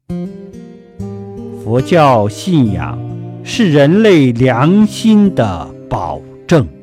佛教信仰是人类良心的保证。